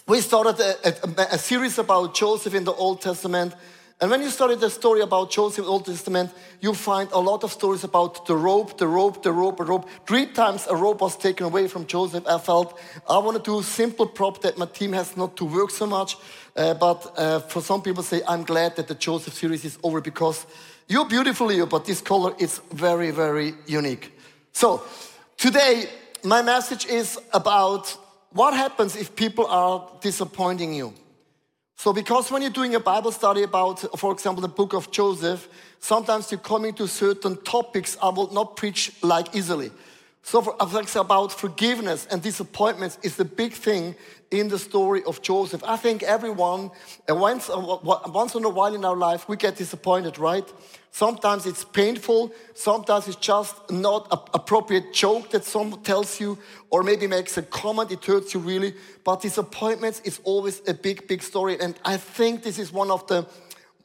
We started a series about Joseph in the Old Testament. And when you study the story about Joseph in the Old Testament, you find a lot of stories about the rope. 3 times a rope was taken away from Joseph. I felt I want to do a simple prop that my team has not to work so much. But for some people say, I'm glad that the Joseph series is over because you're beautiful, Leo, but this color is very, very unique. So today, my message is about what happens if people are disappointing you. So because when you're doing a Bible study about, for example, the book of Joseph, sometimes you're coming to certain topics I will not preach like easily. So for example, about forgiveness and disappointments is the big thing in the story of Joseph. I think everyone, once in a while in our life, we get disappointed, right? Sometimes it's painful. Sometimes it's just not an appropriate joke that someone tells you or maybe makes a comment. It hurts you really. But disappointments is always a big, big story. And I think this is one of the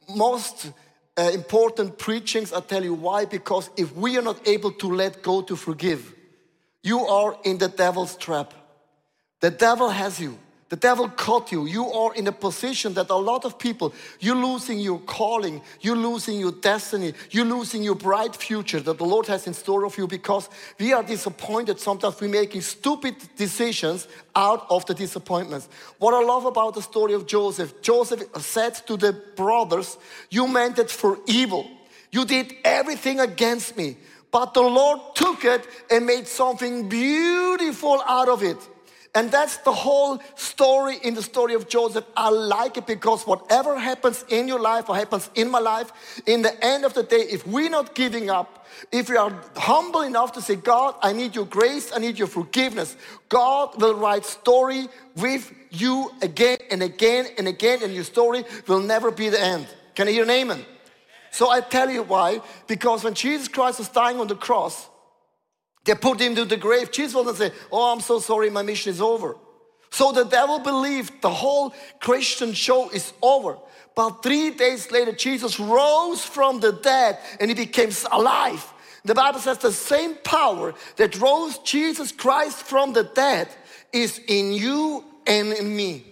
most important preachings. I tell you why. Because if we are not able to let go to forgive, you are in the devil's trap. The devil has you. The devil caught you. You are in a position that a lot of people, you're losing your calling, you're losing your destiny, you're losing your bright future that the Lord has in store of you because we are disappointed. Sometimes we're making stupid decisions out of the disappointments. What I love about the story of Joseph, Joseph said to the brothers, you meant it for evil. You did everything against me. But the Lord took it and made something beautiful out of it. And that's the whole story in the story of Joseph. I like it because whatever happens in your life or happens in my life, in the end of the day, if we're not giving up, if we are humble enough to say, God, I need your grace, I need your forgiveness, God will write story with you again and again and again, and your story will never be the end. Can I hear an amen? So I tell you why. Because when Jesus Christ was dying on the cross, they put him to the grave. Jesus wasn't say, oh, I'm so sorry, my mission is over. So the devil believed the whole Christian show is over. But 3 days later, Jesus rose from the dead and he became alive. The Bible says the same power that rose Jesus Christ from the dead is in you and in me.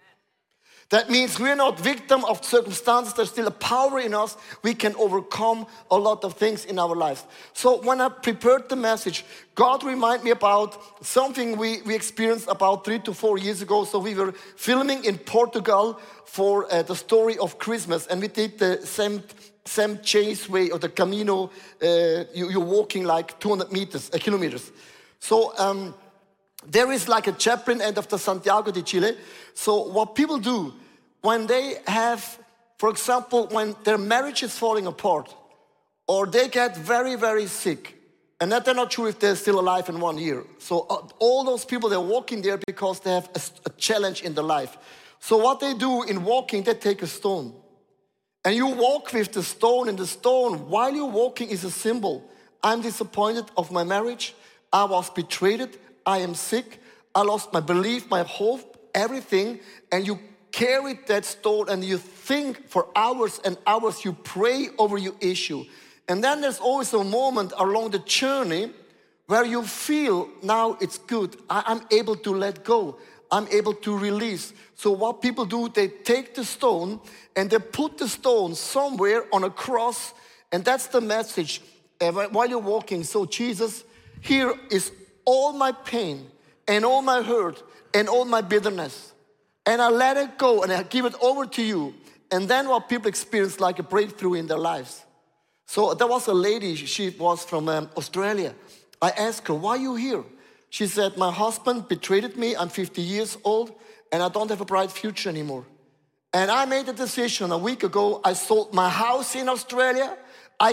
That means we're not victim of circumstances. There's still a power in us. We can overcome a lot of things in our lives. So when I prepared the message, God reminded me about something we experienced about 3 to 4 years ago. So we were filming in Portugal for the story of Christmas. And we did the Sam Chase way or the Camino. You're walking like 200 kilometers. So there is like a chaplain end of the Santiago de Chile. So what people do when they have, for example, when their marriage is falling apart or they get very, very sick and that they're not sure if they're still alive in 1 year. So all those people, they're walking there because they have a challenge in their life. So what they do in walking, they take a stone. And you walk with the stone, and the stone, while you're walking, is a symbol. I'm disappointed of my marriage. I was betrayed. I am sick. I lost my belief, my hope, everything. And you carry that stone and you think for hours and hours. You pray over your issue. And then there's always a moment along the journey where you feel now it's good. I'm able to let go. I'm able to release. So what people do, they take the stone and they put the stone somewhere on a cross. And that's the message while you're walking. So Jesus, here is all my pain and all my hurt and all my bitterness. And I let it go and I give it over to you. And then what people experience like a breakthrough in their lives. So there was a lady, she was from Australia. I asked her, why are you here? She said, my husband betrayed me. I'm 50 years old and I don't have a bright future anymore. And I made a decision a week ago. I sold my house in Australia. I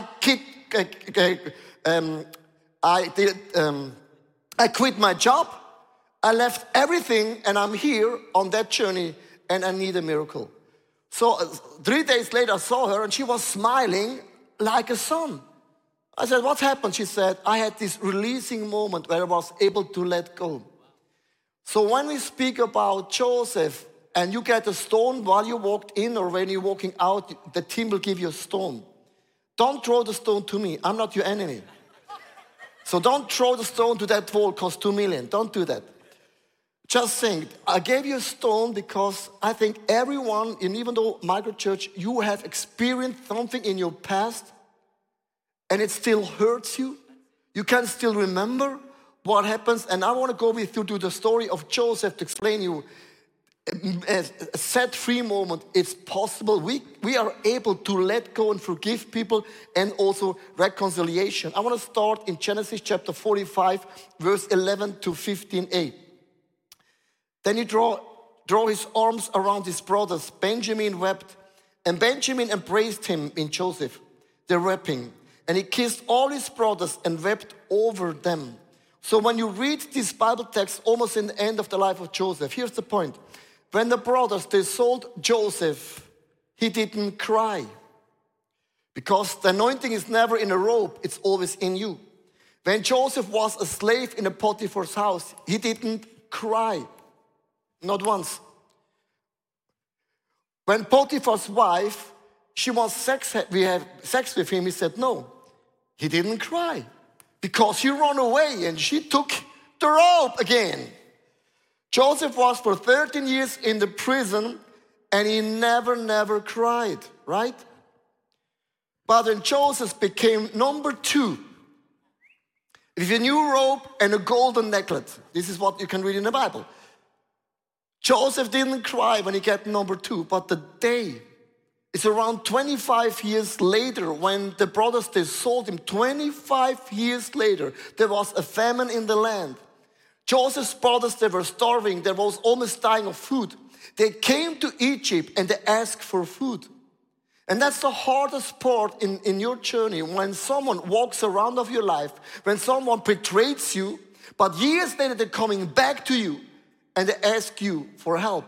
quit my job. I left everything and I'm here on that journey and I need a miracle. So 3 days later I saw her and she was smiling like a sun. I said, what happened? She said, I had this releasing moment where I was able to let go. So when we speak about Joseph and you get a stone while you walked in or when you're walking out, the team will give you a stone. Don't throw the stone to me. I'm not your enemy. So don't throw the stone to that wall, cost $2 million. Don't do that. just saying, I gave you a stone because I think everyone, and even though microchurch, you have experienced something in your past and it still hurts you. You can still remember what happens. And I want to go with you to the story of Joseph to explain you a set-free moment. It's possible. We are able to let go and forgive people, and also reconciliation. I want to start in Genesis chapter 45, verse 11 to 15a. Then he draw his arms around his brothers. Benjamin wept, and Benjamin embraced him in Joseph, the weeping. And he kissed all his brothers and wept over them. So when you read this Bible text almost in the end of the life of Joseph, here's the point. When the brothers, they sold Joseph, he didn't cry. Because the anointing is never in a robe, it's always in you. When Joseph was a slave in a Potiphar's house, he didn't cry. Not once. When Potiphar's wife, we had sex with him, he said no. He didn't cry. Because he ran away and she took the robe again. Joseph was for 13 years in the prison and he never cried, right? But then Joseph became number 2. With a new robe and a golden necklace. This is what you can read in the Bible. Joseph didn't cry when he got number 2, but the day is around 25 years later when the brothers, they sold him. 25 years later, there was a famine in the land. Joseph's brothers, they were starving. They was almost dying of food. They came to Egypt and they asked for food. And that's the hardest part in your journey, when someone walks around of your life, when someone betrays you, but years later they're coming back to you and they ask you for help.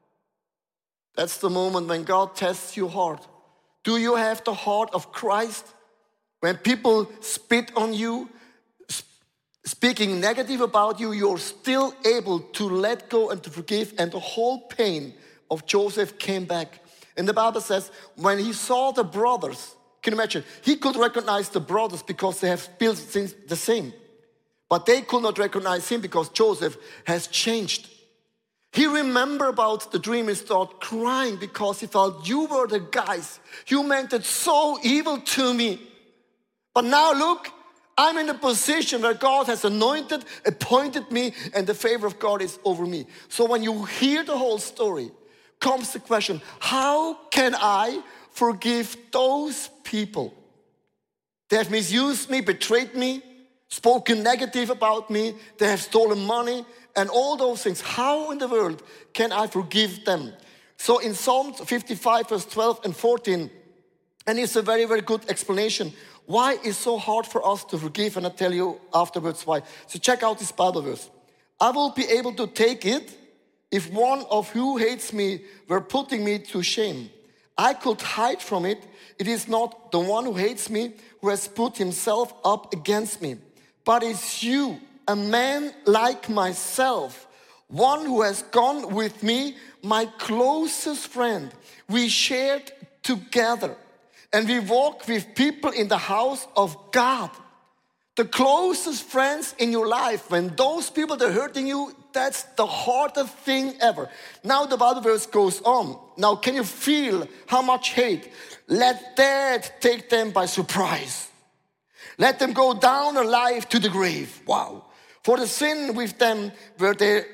That's the moment when God tests your heart. Do you have the heart of Christ? When people spit on you, speaking negative about you, you're still able to let go and to forgive, and the whole pain of Joseph came back. And the Bible says, when he saw the brothers, can you imagine? He could recognize the brothers because they have built things the same. But they could not recognize him because Joseph has changed. He remembered about the dream and started crying because he felt, you were the guys. You meant it so evil to me. But now look, I'm in a position where God has anointed, appointed me, and the favor of God is over me. So when you hear the whole story, comes the question, how can I forgive those people? They have misused me, betrayed me, spoken negative about me, they have stolen money, and all those things. How in the world can I forgive them? So in Psalm 55, verse 12 and 14, and it's a very, very good explanation. Why it's so hard for us to forgive, and I'll tell you afterwards why. So check out this Bible verse. I will be able to take it if one of who hates me were putting me to shame. I could hide from it. It is not the one who hates me who has put himself up against me, but it's you, a man like myself, one who has gone with me, my closest friend. We shared together and we walk with people in the house of God. The closest friends in your life, when those people that are hurting you, that's the hardest thing ever. Now the Bible verse goes on. Now can you feel how much hate? Let that take them by surprise. Let them go down alive to the grave. Wow. For the sin with them where they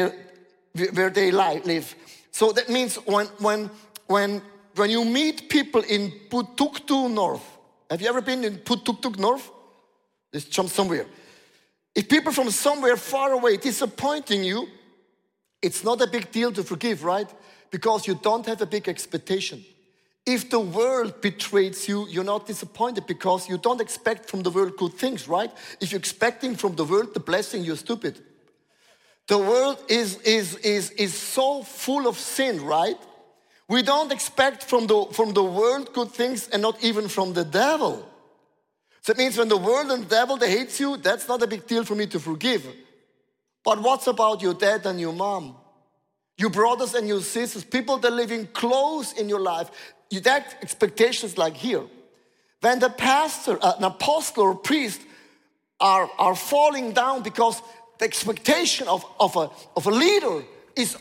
live. So that means when you meet people in Putuktu North. Have you ever been in Putuktu North? Let's jump somewhere. If people from somewhere far away disappointing you, it's not a big deal to forgive, right? Because you don't have a big expectation. If the world betrays you, you're not disappointed because you don't expect from the world good things, right? If you're expecting from the world the blessing, you're stupid. The world is so full of sin, right? We don't expect from the world good things, and not even from the devil. So it means when the world and the devil, they hate you, that's not a big deal for me to forgive. But what's about your dad and your mom? Your brothers and your sisters, people that are living close in your life. That expectations like here. When the pastor, an apostle or priest are falling down because the expectation of a leader is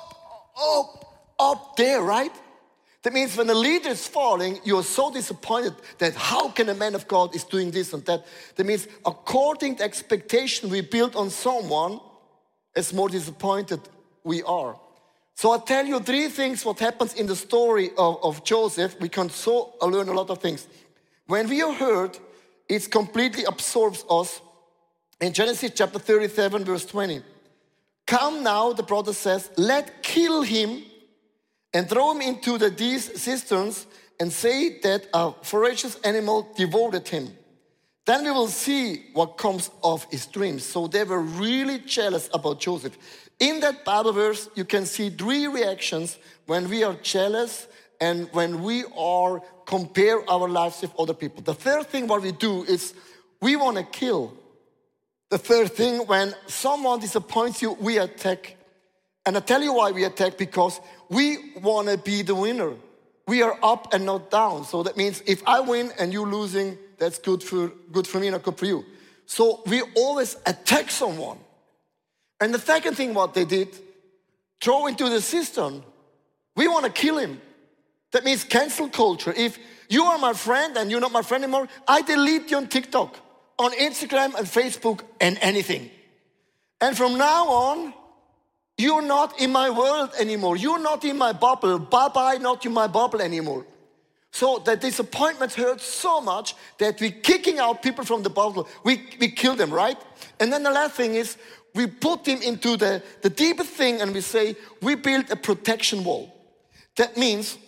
up there, right? That means when a leader is falling, you're so disappointed that how can a man of God is doing this and that? That means according to expectation we build on someone, as more disappointed we are. So I'll tell you 3 things what happens in the story of Joseph. We can learn a lot of things. When we are hurt, it completely absorbs us. In Genesis chapter 37, verse 20. Come now, the brother says, let kill him and throw him into these cisterns and say that a ferocious animal devoured him. Then we will see what comes of his dreams. So they were really jealous about Joseph. In that Bible verse, you can see 3 reactions when we are jealous and when we are compare our lives with other people. The third thing what we do is we want to kill. The third thing, when someone disappoints you, we attack. And I tell you why we attack, because we want to be the winner. We are up and not down. So that means if I win and you losing, that's good for me, not good for you. So we always attack someone. And the second thing what they did, throw into the cistern. We want to kill him. That means cancel culture. If you are my friend and you're not my friend anymore, I delete you on TikTok, on Instagram and Facebook and anything. And from now on, you're not in my world anymore. You're not in my bubble. Bye-bye, not in my bubble anymore. So the disappointment hurts so much that we're kicking out people from the bubble. We kill them, right? And then the last thing is, we put them into the deepest thing and we say, we build a protection wall. That means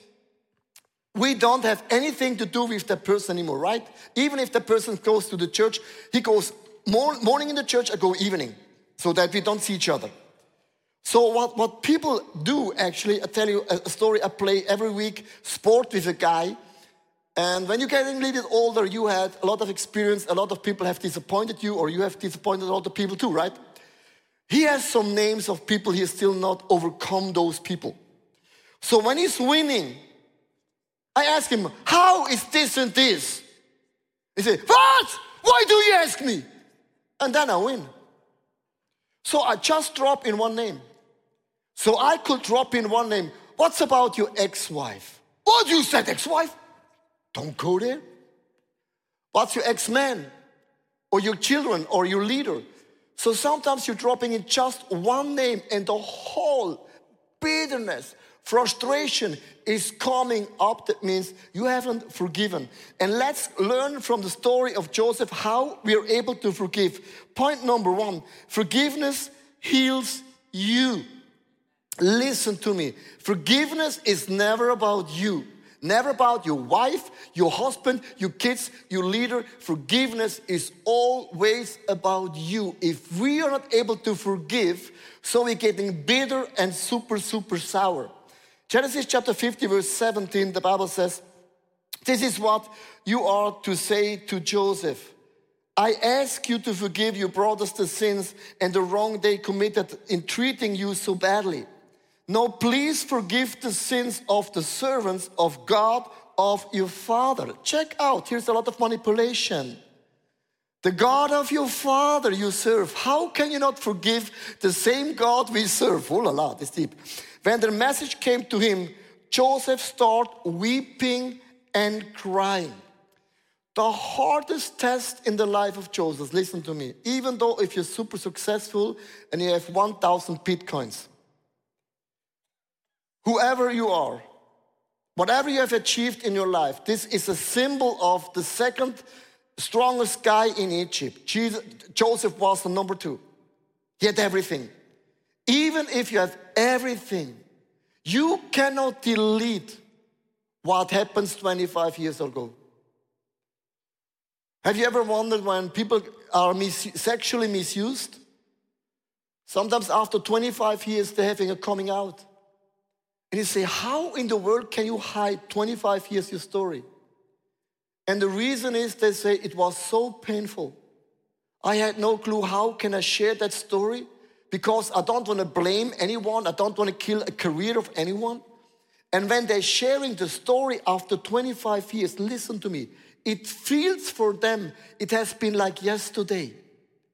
we don't have anything to do with that person anymore, right? Even if the person goes to the church, he goes morning in the church, I go evening, so that we don't see each other. So what people do, actually, I tell you a story. I play every week sport with a guy. And when you're getting a little bit older, you had a lot of experience. A lot of people have disappointed you, or you have disappointed a lot of people too, right? He has some names of people he has still not overcome those people. So when he's winning, I ask him, how is this and this? He says, what? Why do you ask me? And then I win. So I just drop in one name. So I could drop in one name. What's about your ex-wife? What, you said ex-wife? Don't go there. What's your ex-man? Or your children, or your leader? So sometimes you're dropping in just one name and the whole bitterness, frustration is coming up. That means you haven't forgiven. And let's learn from the story of Joseph how we are able to forgive. Point number 1, forgiveness heals you. Listen to me. Forgiveness is never about you. Never about your wife, your husband, your kids, your leader. Forgiveness is always about you. If we are not able to forgive, so we're getting bitter and super sour. Genesis chapter 50, verse 17, the Bible says, this is what you are to say to Joseph. I ask you to forgive your brothers the sins and the wrong they committed in treating you so badly. Now please forgive the sins of the servants of God, of your father. Check out, here's a lot of manipulation. The God of your father you serve. How can you not forgive the same God we serve? Oh la la, this deep. When the message came to him, Joseph started weeping and crying. The hardest test in the life of Joseph, listen to me, even though if you're super successful and you have 1,000 Bitcoins, whoever you are, whatever you have achieved in your life, this is a symbol of the second strongest guy in Egypt. Joseph was the number 2. He had everything. Even if you have everything, you cannot delete what happens 25 years ago. Have you ever wondered when people are sexually misused? Sometimes after 25 years, they're having a coming out. And you say, how in the world can you hide 25 years your story? And the reason is they say it was so painful. I had no clue how can I share that story because I don't want to blame anyone. I don't want to kill a career of anyone. And when they're sharing the story after 25 years, listen to me, it feels for them, it has been like yesterday.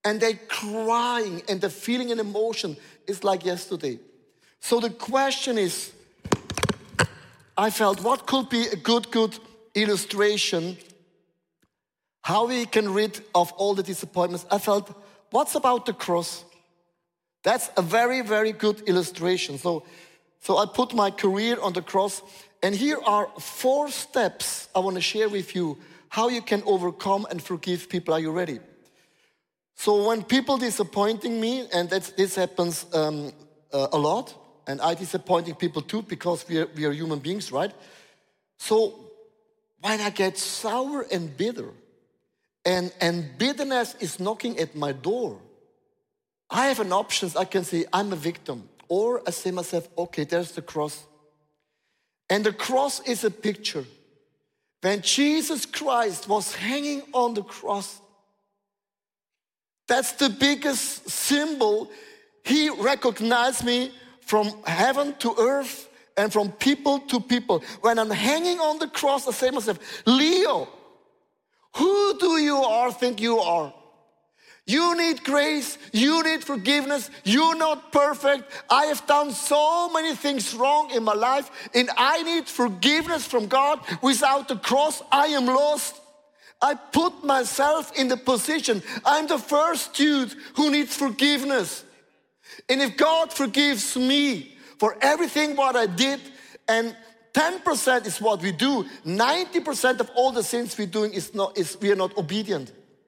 and they're crying, and the feeling and emotion is like yesterday. So the question is, I felt, what could be a good illustration how we can rid of all the disappointments? I felt, what's about the cross? That's a very, very good illustration. So I put my career on the cross, and here are 4 steps I want to share with you how you can overcome and forgive people. Are you ready? So when people disappointing me, and this happens a lot, and I disappointing people too, because we are human beings, right? So when I get sour and bitter, and bitterness is knocking at my door, I have an option. I can say, I'm a victim. Or I say myself, okay, there's the cross. And the cross is a picture. When Jesus Christ was hanging on the cross, that's the biggest symbol. He recognized me from heaven to earth and from people to people. When I'm hanging on the cross, I say to myself, Leo, who do you think you are? You need grace, you need forgiveness, you're not perfect. I have done so many things wrong in my life, and I need forgiveness from God. Without the cross, I am lost. I put myself in the position, I'm the first dude who needs forgiveness. And if God forgives me for everything what I did, and 10% is what we do, 90% of all the sins we're doing is we are not obedient.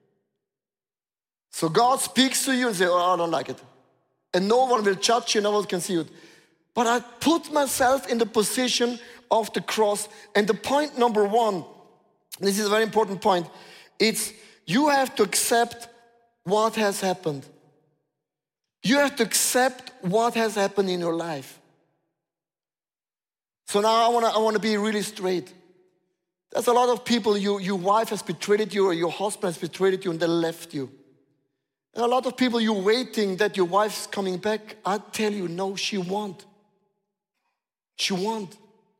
So God speaks to you and says, oh, I don't like it. And no one will judge you, no one can see it. But I put myself in the position of the cross. And the point number 1, this is a very important point, it's you have to accept what has happened. You have to accept what has happened in your life. So now I want to be really straight. There's a lot of people, your wife has betrayed you, or your husband has betrayed you, and they left you. And a lot of people, you're waiting that your wife's coming back. I tell you, no, she won't. She won't.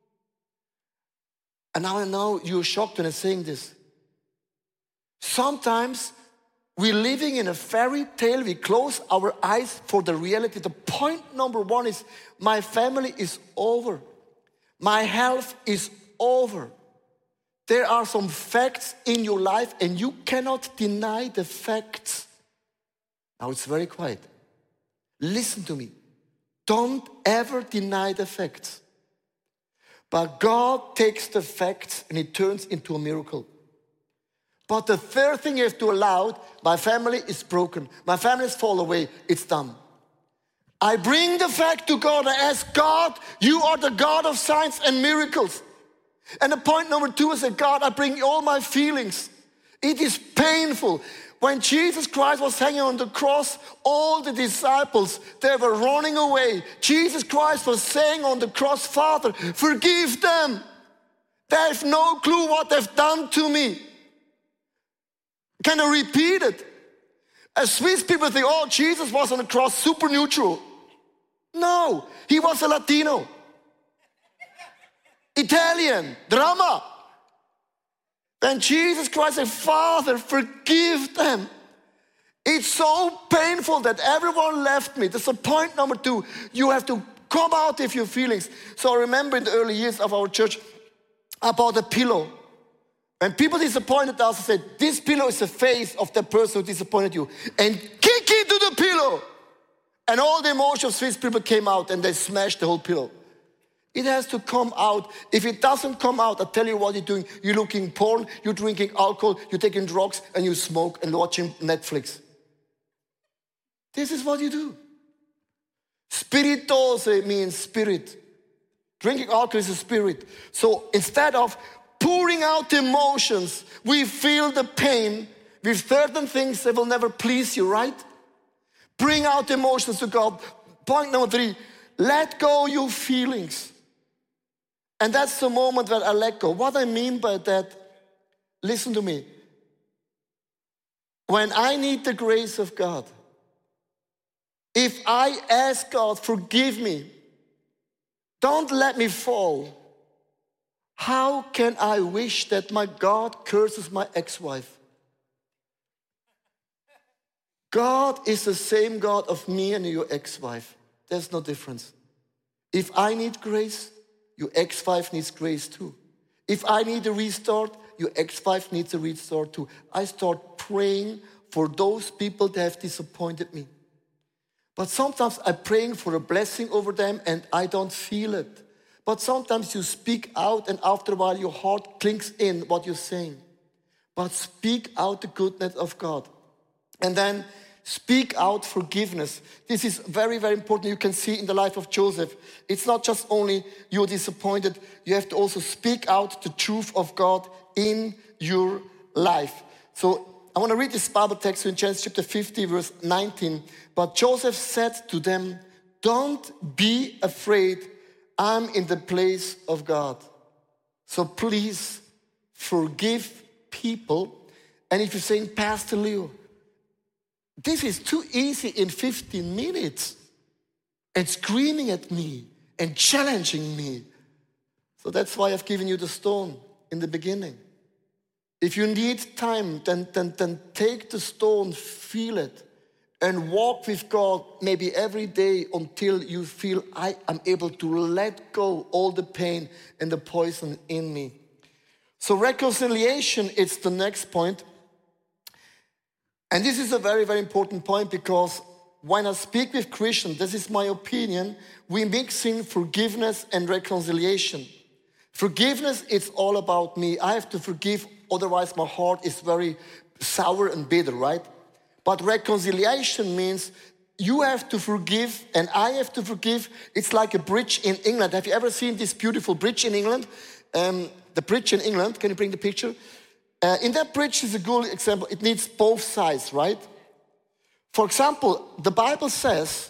And now I know you're shocked when I'm saying this. Sometimes we're living in a fairy tale. We close our eyes for the reality. The point number 1 is, my family is over. My health is over. There are some facts in your life, and you cannot deny the facts. Now it's very quiet. Listen to me. Don't ever deny the facts. But God takes the facts and He turns into a miracle. But the third thing you have to allow, my family is broken. My family has fallen away. It's done. I bring the fact to God. I ask God, you are the God of signs and miracles. And the point number 2 is that God, I bring all my feelings. It is painful. When Jesus Christ was hanging on the cross, all the disciples, they were running away. Jesus Christ was saying on the cross, Father, forgive them. They have no clue what they've done to me. Can I repeat it? As Swiss people think, oh, Jesus was on the cross super neutral. No, he was a Latino. Italian, drama. When Jesus Christ said, Father, forgive them. It's so painful that everyone left me. That's the point number 2. You have to come out with your feelings. So I remember in the early years of our church, I bought a pillow. When people disappointed us, I said, this pillow is the face of the person who disappointed you. And kick into the pillow. And all the emotions of Swiss people came out, and they smashed the whole pillow. It has to come out. If it doesn't come out, I'll tell you what you're doing. You're looking porn, you're drinking alcohol, you're taking drugs, and you smoke and watching Netflix. This is what you do. Spiritose means spirit. Drinking alcohol is a spirit. So instead of pouring out the emotions, we feel the pain with certain things that will never please you, right? Bring out the emotions to God. Point number 3, let go your feelings. And that's the moment that I let go. What I mean by that, listen to me. When I need the grace of God, if I ask God, forgive me, don't let me fall, how can I wish that my God curses my ex-wife? God is the same God of me and your ex-wife. There's no difference. If I need grace, your ex-wife needs grace too. If I need a restart, your ex-wife needs a restart too. I start praying for those people that have disappointed me. But sometimes I'm praying for a blessing over them and I don't feel it. But sometimes you speak out and after a while your heart clinks in what you're saying. But speak out the goodness of God. And then speak out forgiveness. This is very, very important. You can see in the life of Joseph. It's not just only you're disappointed. You have to also speak out the truth of God in your life. So I want to read this Bible text in Genesis chapter 50, verse 19. But Joseph said to them, don't be afraid. I'm in the place of God. So please forgive people. And if you're saying, Pastor Leo, this is too easy in 15 minutes. And screaming at me and challenging me. So that's why I've given you the stone in the beginning. If you need time, then take the stone, feel it, and walk with God maybe every day until you feel I am able to let go all the pain and the poison in me. So reconciliation is the next point. And this is a very, very important point because when I speak with Christians, this is my opinion, we mix in forgiveness and reconciliation. Forgiveness, it's all about me. I have to forgive, otherwise my heart is very sour and bitter, right? But reconciliation means you have to forgive and I have to forgive. It's like a bridge in England. Have you ever seen this beautiful bridge in England? The bridge in England, can you bring the picture? In that bridge is a good example. It needs both sides, right? For example, the Bible says,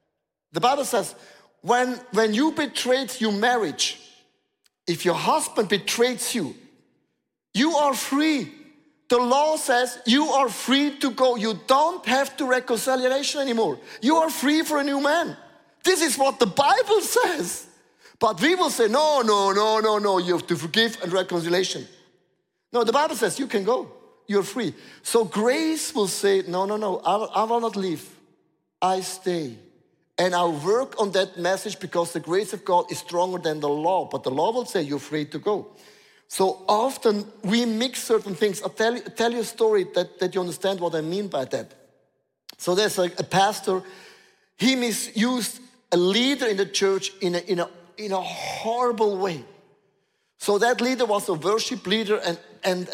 when you betrayed your marriage, if your husband betrays you, you are free. The law says you are free to go. You don't have to reconciliation anymore. You are free for a new man. This is what the Bible says. But we will say, no, you have to forgive and reconciliation. No, the Bible says you can go. You're free. So grace will say, no, I will not leave. I stay. And I'll work on that message because the grace of God is stronger than the law. But the law will say you're free to go. So often we mix certain things. I'll tell you a story that you understand what I mean by that. So there's a pastor. He misused a leader in the church in a horrible way. So that leader was a worship leader and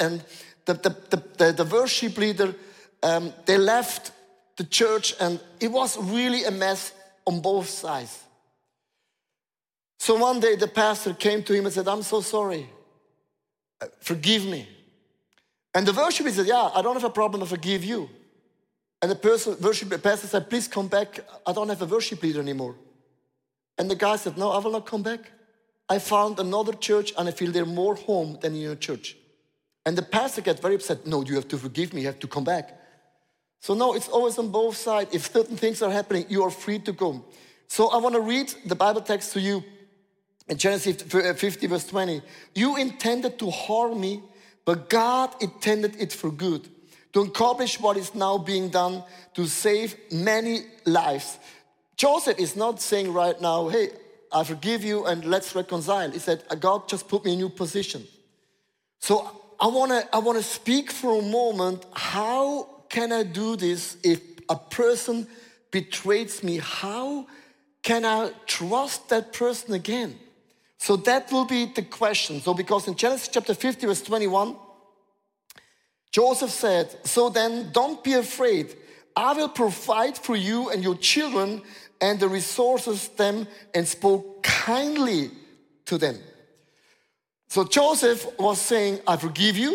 the worship leader, they left the church and it was really a mess on both sides. So one day the pastor came to him and said, I'm so sorry. Forgive me. And the worship leader said, yeah, I don't have a problem, I forgive you. And the pastor said, please come back, I don't have a worship leader anymore. And the guy said, no, I will not come back. I found another church and I feel they're more home than in your church. And the pastor got very upset. No, you have to forgive me, you have to come back. So no, it's always on both sides. If certain things are happening, you are free to go. So I want to read the Bible text to you in Genesis 50 verse 20. You intended to harm me, but God intended it for good, to accomplish what is now being done, to save many lives. Joseph is not saying right now, hey, I forgive you and let's reconcile. He said, God just put me in a new position. So I want to speak for a moment. How can I do this if a person betrays me? How can I trust that person again? So that will be the question. So because in Genesis chapter 50 verse 21, Joseph said, so then don't be afraid. I will provide for you and your children and the resources them, and spoke kindly to them. So Joseph was saying, I forgive you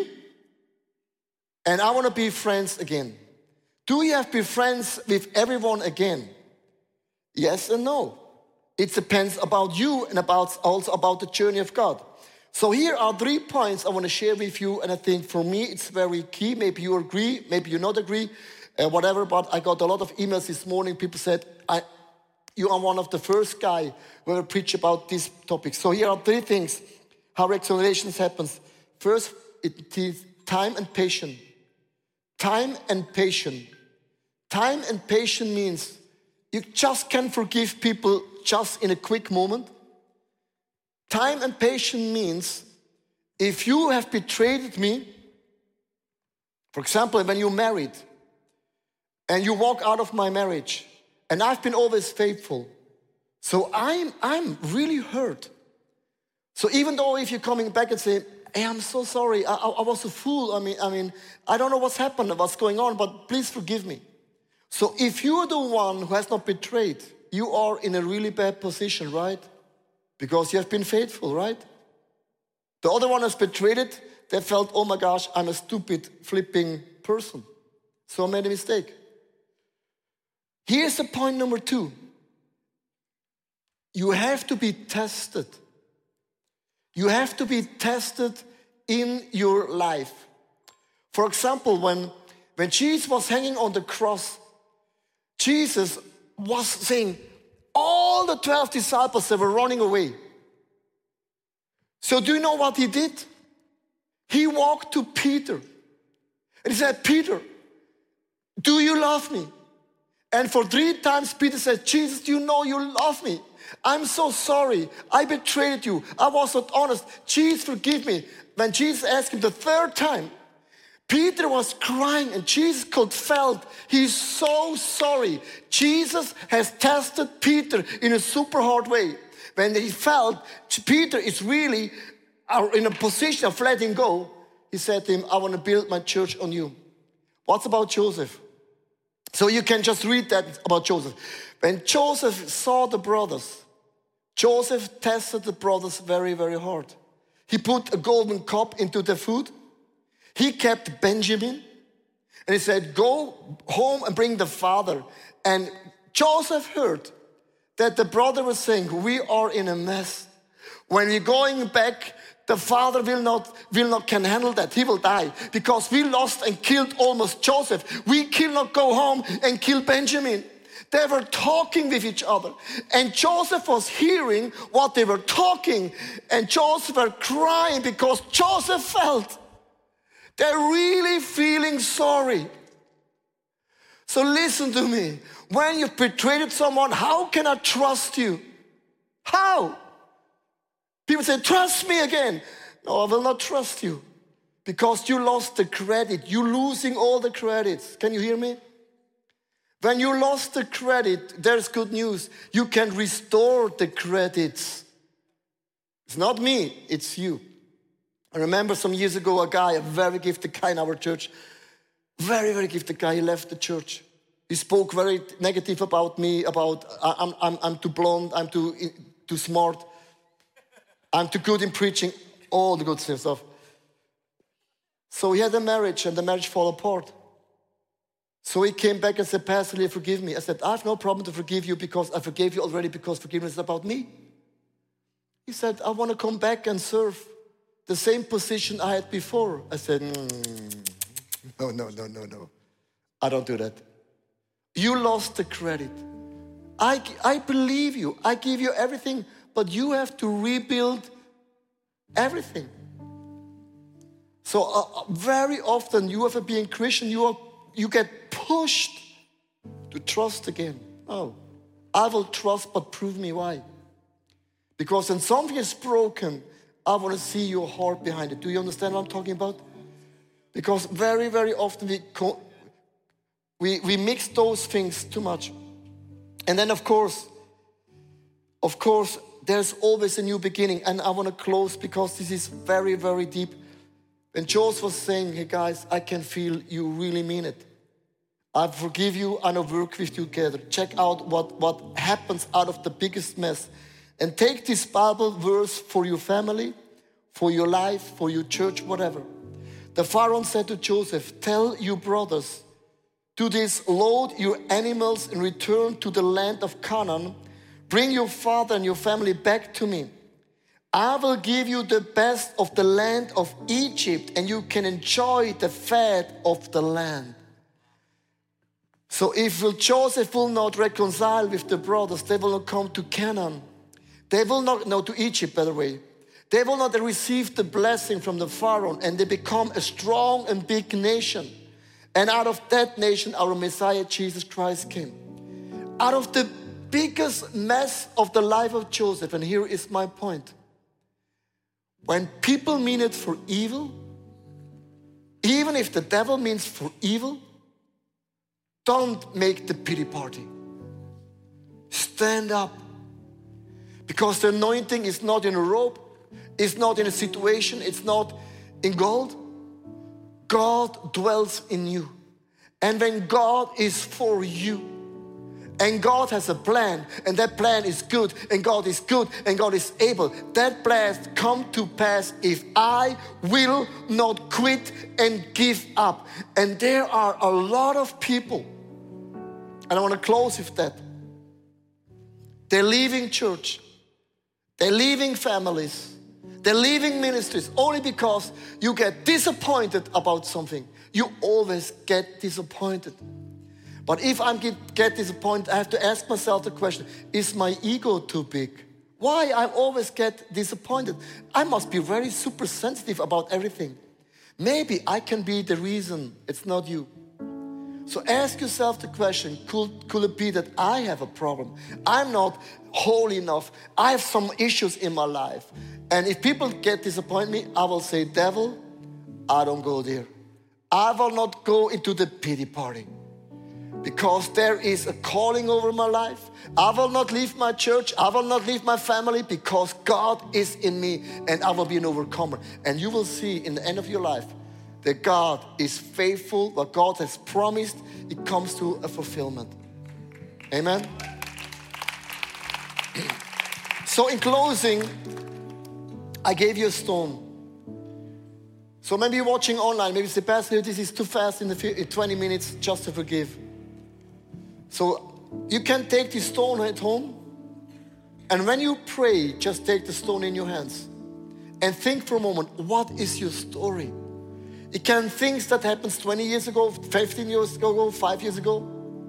and I want to be friends again. Do you have to be friends with everyone again? Yes and no. It depends about you and also about the journey of God. So here are 3 points I want to share with you, and I think for me it's very key. Maybe you agree, maybe you not agree, whatever, but I got a lot of emails this morning. People said, you are one of the first guy who will preach about this topic. So here are 3 things, how reconciliation happens. First, it is time and patience. Time and patience. Time and patience means you just can forgive people just in a quick moment. Time and patience means if you have betrayed me, for example, when you're married and you walk out of my marriage and I've been always faithful, so I'm really hurt. So even though if you're coming back and say, hey, I'm so sorry, I was a fool. I mean, I don't know what's happened, what's going on, but please forgive me. So if you're the one who has not betrayed, you are in a really bad position, right? Because you have been faithful, right? The other one has betrayed it. They felt, oh my gosh, I'm a stupid, flipping person. So I made a mistake. Here's the point number 2. You have to be tested. You have to be tested in your life. For example, when Jesus was hanging on the cross, Jesus was saying, all the 12 disciples, they were running away. So do you know what he did? He walked to Peter and he said, Peter, do you love me? And for 3 times Peter said, Jesus, you know you love me. I'm so sorry. I betrayed you. I was not honest. Jesus, forgive me. When Jesus asked him the 3rd time, Peter was crying and Jesus could felt he's so sorry. Jesus has tested Peter in a super hard way. When he felt Peter is really in a position of letting go, he said to him, I want to build my church on you. What's about Joseph? So you can just read that about Joseph. When Joseph saw the brothers, Joseph tested the brothers very, very hard. He put a golden cup into their food. He kept Benjamin. And he said, go home and bring the father. And Joseph heard that the brother was saying, we are in a mess. When we're going back, the father can handle that. He will die because we lost and killed almost Joseph. We cannot go home and kill Benjamin. They were talking with each other. And Joseph was hearing what they were talking. And Joseph was crying because Joseph felt they're really feeling sorry. So listen to me. When you've betrayed someone, how can I trust you? How? People say, trust me again. No, I will not trust you because you lost the credit. You're losing all the credits. Can you hear me? When you lost the credit, there's good news. You can restore the credits. It's not me, it's you. I remember some years ago a guy, a very gifted guy in our church, very, very gifted guy, he left the church. He spoke very negative about me, about I'm too blonde, I'm too smart, I'm too good in preaching, all the good stuff. So he had a marriage and the marriage fell apart. So he came back and said, Pastor, forgive me. I said, I have no problem to forgive you because I forgave you already because forgiveness is about me. He said, I want to come back and serve the same position I had before. I said, no. I don't do that. You lost the credit. I believe you. I give you everything, but you have to rebuild everything. So very often you have to be a Christian, you get pushed to trust again. Oh, I will trust, but prove me why. Because when something is broken, I want to see your heart behind it. Do you understand what I'm talking about? Because very, very often we mix those things too much. And then of course, there's always a new beginning. And I want to close because this is very, very deep. When Joseph was saying, hey guys, I can feel you really mean it. I forgive you and I work with you together. Check out what happens out of the biggest mess. And take this Bible verse for your family, for your life, for your church, whatever. The Pharaoh said to Joseph, tell your brothers, do this, load your animals and return to the land of Canaan. Bring your father and your family back to me. I will give you the best of the land of Egypt and you can enjoy the fat of the land. So if Joseph will not reconcile with the brothers, they will not come to Canaan. They will not, no, to Egypt, by the way. They will not receive the blessing from the Pharaoh and they become a strong and big nation. And out of that nation, our Messiah, Jesus Christ, came. Out of the biggest mess of the life of Joseph, and here is my point. When people mean it for evil, even if the devil means for evil, don't make the pity party. Stand up. Because the anointing is not in a robe, it's not in a situation, it's not in gold. God dwells in you. And when God is for you, and God has a plan, and that plan is good, and God is good, and God is able, that plan come to pass if I will not quit and give up. And there are a lot of people, and I want to close with that. They're leaving church, they're leaving families, they're leaving ministries only because you get disappointed about something. You always get disappointed. But if I get disappointed, I have to ask myself the question, is my ego too big? Why I always get disappointed? I must be very super sensitive about everything. Maybe I can be the reason it's not you. So ask yourself the question, could it be that I have a problem? I'm not holy enough. I have some issues in my life. And if people get disappointed me, I will say, devil, I don't go there. I will not go into the pity party. Because there is a calling over my life. I will not leave my church. I will not leave my family because God is in me and I will be an overcomer. And you will see in the end of your life that God is faithful. What God has promised, it comes to a fulfillment. Amen. So in closing, I gave you a stone. So maybe you're watching online. Maybe you say, Pastor, this is too fast in 20 minutes just to forgive. So you can take this stone at home, and when you pray, just take the stone in your hands and think for a moment, what is your story? It can be things that happened 20 years ago, 15 years ago, 5 years ago.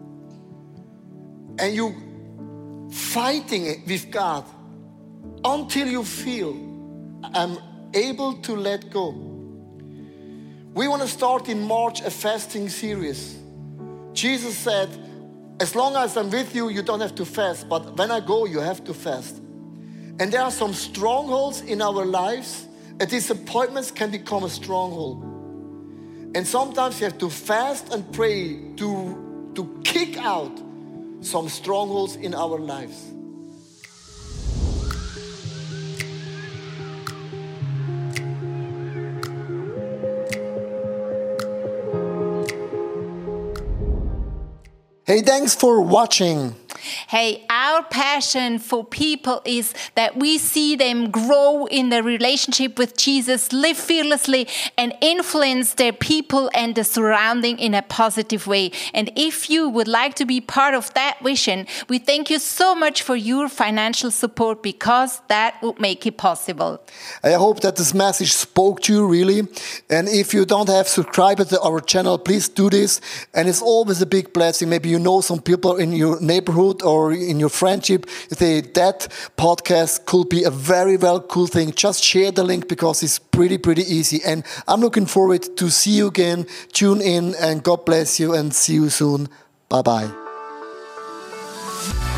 And you fighting it with God until you feel, I'm able to let go. We want to start in March a fasting series. Jesus said, as long as I'm with you, you don't have to fast. But when I go, you have to fast. And there are some strongholds in our lives. A disappointment can become a stronghold. And sometimes you have to fast and pray to kick out some strongholds in our lives. Hey, thanks for watching. Hey, our passion for people is that we see them grow in their relationship with Jesus, live fearlessly, and influence their people and the surrounding in a positive way. And if you would like to be part of that vision, we thank you so much for your financial support because that would make it possible. I hope that this message spoke to you really. And if you don't have subscribed to our channel, please do this. And it's always a big blessing. Maybe you know some people in your neighborhood or in your friendship, that podcast could be a very cool thing. Just share the link because it's pretty easy. And I'm looking forward to see you again. Tune in and God bless you and see you soon. Bye-bye.